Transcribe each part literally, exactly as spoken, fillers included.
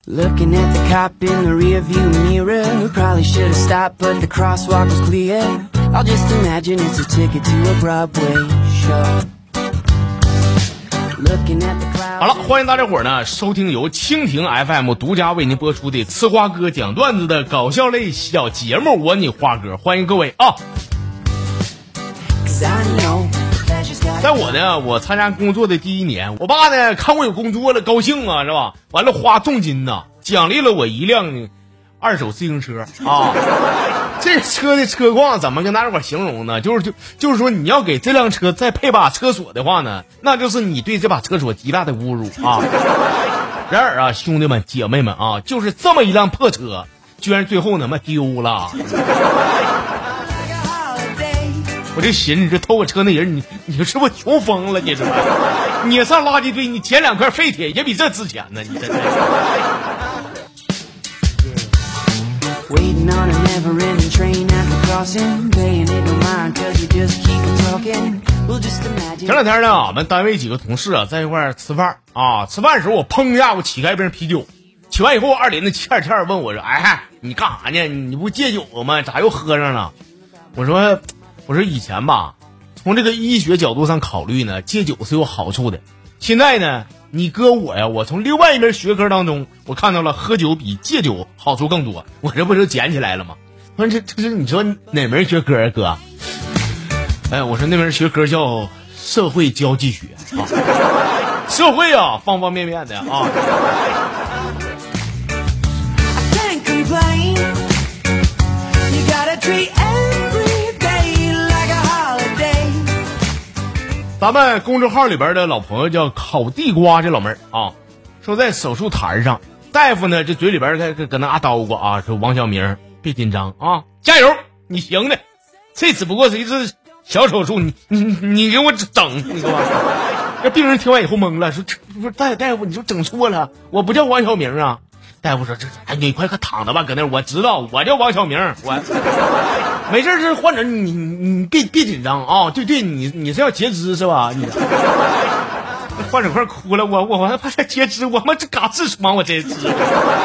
Looking at the cop in the rearview mirror, probably should have stopped, but the crosswalk was clear. I'll just imagine it's a ticket to a Broadway show. Looking at the clouds. 好了，欢迎大家伙儿呢收听由蜻蜓 F M 独家为您播出的吃花哥讲段子的搞笑类小节目，我你花哥，欢迎各位啊！在我呢，我参加工作的第一年，我爸呢看我有工作了，高兴啊，是吧？完了花重金呐，奖励了我一辆二手自行车啊。这车的车况怎么跟大家伙形容呢？就是就就是说，你要给这辆车再配把车锁的话呢，那就是你对这把车锁极大的侮辱啊！然而啊，兄弟们姐妹们啊，就是这么一辆破车，居然最后他妈丢了。我这寻思，这偷我车那人，你你是不是穷疯了？你是吧？你上垃圾堆，你捡两块废铁也比这值钱呢！你真的。前两天呢，俺们单位几个同事啊，在一块儿吃饭啊，吃饭的时候我砰一下，我起开一瓶啤酒，起完以后，二林子欠欠问我说：“哎，你干啥呢？你不戒酒吗？咋又喝上了？”我说。我说以前吧，从这个医学角度上考虑呢，戒酒是有好处的。现在呢，你哥我呀，我从另外一门学科当中，我看到了喝酒比戒酒好处更多。我这不就捡起来了吗？我说这这是你说哪门学科啊，哥？哎，我说那门学科叫社会交际学啊，社会啊，方方面面的啊。咱们公众号里边的老朋友叫烤地瓜这老妹儿啊，说在手术台上，大夫呢这嘴里边搁搁搁那啊叨咕啊，说王小明别紧张啊，加油，你行的，这只不过是一次小手术，你你你给我整，你给我。这病人听完以后懵了，说这不是大大夫，你说整错了，我不叫王小明啊。大夫说这哎你快快躺着吧，搁那我知道我叫王小明，我。没事，这患者你你别别紧张啊！对对，你你是要截肢是吧？你患者快哭了，我我我还怕他截肢，我们这嘎痔疮我这痔。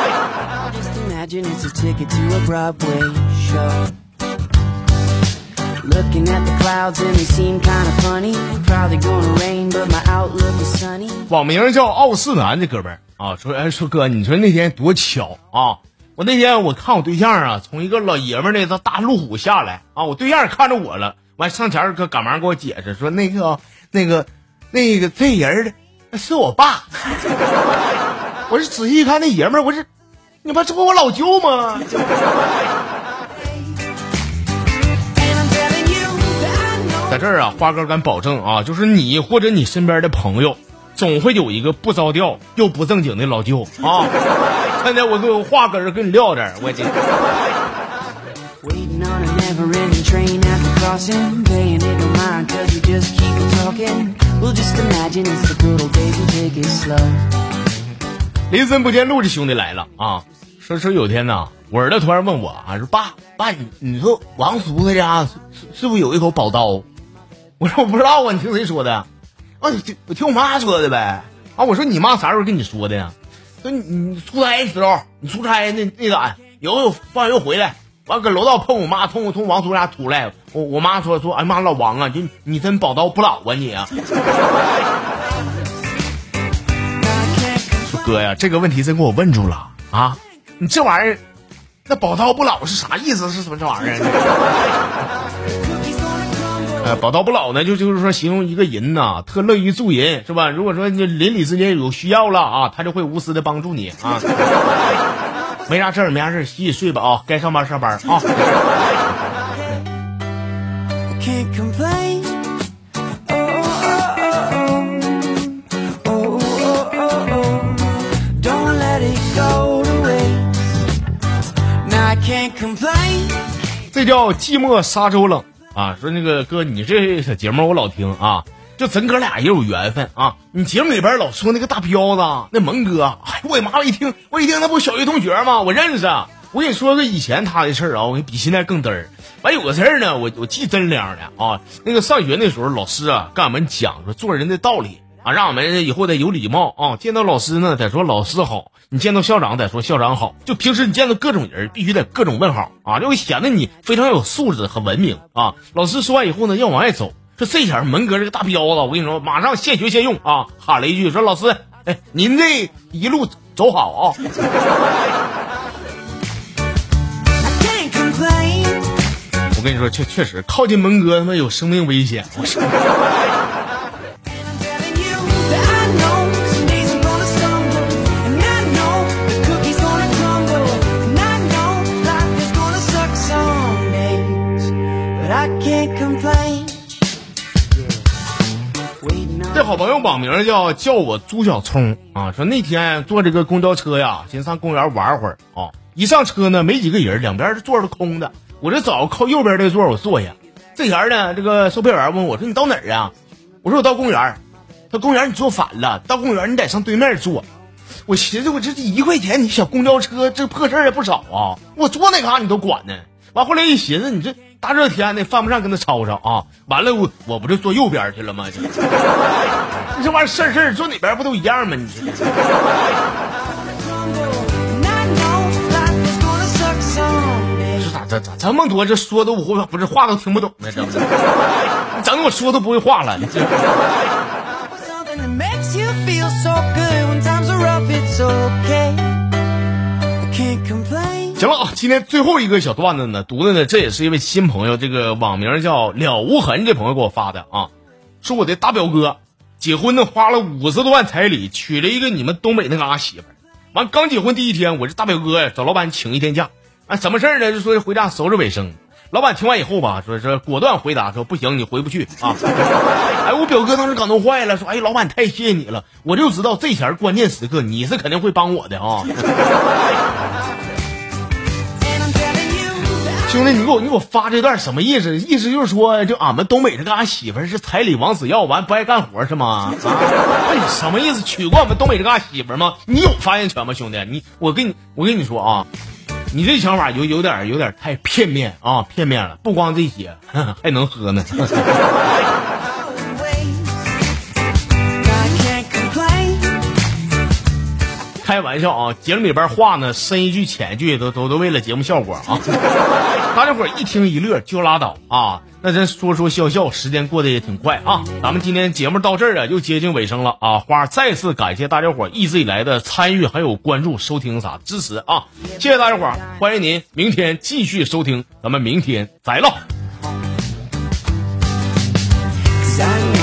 网名叫傲视男这哥们儿啊，说哎说哥，你说那天多巧啊！我那天我看我对象啊，从一个老爷们儿那个大路虎下来啊，我对象看着我了，完上前搁赶忙给我解释说那个那个那个这人是我爸。我是仔细一看那爷们儿，我是你妈这不我老舅吗？在这儿啊，花哥敢保证啊，就是你或者你身边的朋友，总会有一个不着调又不正经的老舅啊。现在我跟话搁这跟你撂这儿，我这。林森不见路这兄弟来了啊！说说有天呐，我儿子突然问我啊，说爸爸，你你说王叔他家是是不是有一口宝刀？我说我不知道啊，你听谁说的？啊，我听我妈说的呗。啊，我说你妈啥时候跟你说的呀？说你你出差的时候，你出差那那咋有有放学回来，完搁楼道碰我妈，从从王叔家出来，我我妈说说，哎妈老王啊，就你真宝刀不老啊你啊！说哥呀，这个问题真给我问住了啊！你这玩意儿，那宝刀不老是啥意思？是什么这玩意儿？呃，宝刀不老呢，就就是说形容一个人呐，特乐于助人，是吧？如果说你邻里之间有需要了啊，他就会无私的帮助你啊。没啥事儿，没啥事儿，洗洗睡吧啊，该上班上班啊。这叫寂寞沙洲冷。啊，说那个哥，你这小节目我老听啊，就咱哥俩也有缘分啊。你节目里边老说那个大彪子，那蒙哥，哎，我妈我一听，我一听那不小学同学吗？我认识。我跟你说个以前他的事儿啊，我比现在更嘚儿。完有个事儿呢，我我记真凉的啊。那个上学那时候，老师啊跟俺们讲说做人的道理啊，让我们以后得有礼貌啊，见到老师呢得说老师好，你见到校长得说校长好，就平时你见到各种人必须得各种问好啊，就会显得你非常有素质和文明啊。老师说完以后呢，要往外走，说这前门哥这个大彪子，我跟你说，马上现学现用啊，喊了一句说老师，哎，您这一路走好啊。我跟你说，确确实靠近门哥他妈有生命危险。我说这好朋友网名叫叫我朱小聪啊，说那天坐这个公交车呀，先上公园玩会儿啊，一上车呢没几个人，两边的座是空的，我这找靠右边的座我坐下。这前呢，这个售票员问我说你到哪儿啊？我说我到公园。他公园你坐反了，到公园你得上对面坐。我寻思我这一块钱你小公交车这破事儿也不少啊，我坐哪嘎你都管呢。完后来一寻思，你这大热天的犯不上跟他吵吵啊！完了我我不就坐右边去了吗？这这玩意儿事儿事儿坐哪边不都一样吗？你这这咋咋咋这么多这说都不会，不是话都听不懂呢？这不是整的我说都不会话了。这行了啊，今天最后一个小段子呢，读的呢，这也是一位新朋友，这个网名叫了无痕这朋友给我发的啊，说我的大表哥结婚呢花了五十多万彩礼，娶了一个你们东北那嘎媳妇儿，完刚结婚第一天，我这大表哥呀找老板请一天假，啊，什么事儿呢？就说回家收拾卫生。老板听完以后吧，说说果断回答说不行，你回不去啊！哎，我表哥当时感动坏了，说哎，老板太谢谢你了，我就知道这前关键时刻你是肯定会帮我的啊！兄弟，你给我你给我发这段什么意思？意思就是说，就俺们东北这嘎媳妇是彩礼王死要，完不爱干活是吗？啊，那你什么意思？娶过俺们东北这嘎媳妇吗？你有发言权吗，兄弟？你我跟你我跟你说啊。你这想法有有点有点太片面啊，片面了。不光这些，呵呵还能喝呢。开玩笑啊，节目里边话呢，深一句浅一句，都都都为了节目效果啊。大家伙一听一乐就拉倒啊。那咱说说笑笑，时间过得也挺快啊。咱们今天节目到这儿啊，又接近尾声了啊。花再次感谢大家伙一直以来的参与，还有关注、收听啥支持啊！谢谢大家伙，欢迎您明天继续收听，咱们明天再唠。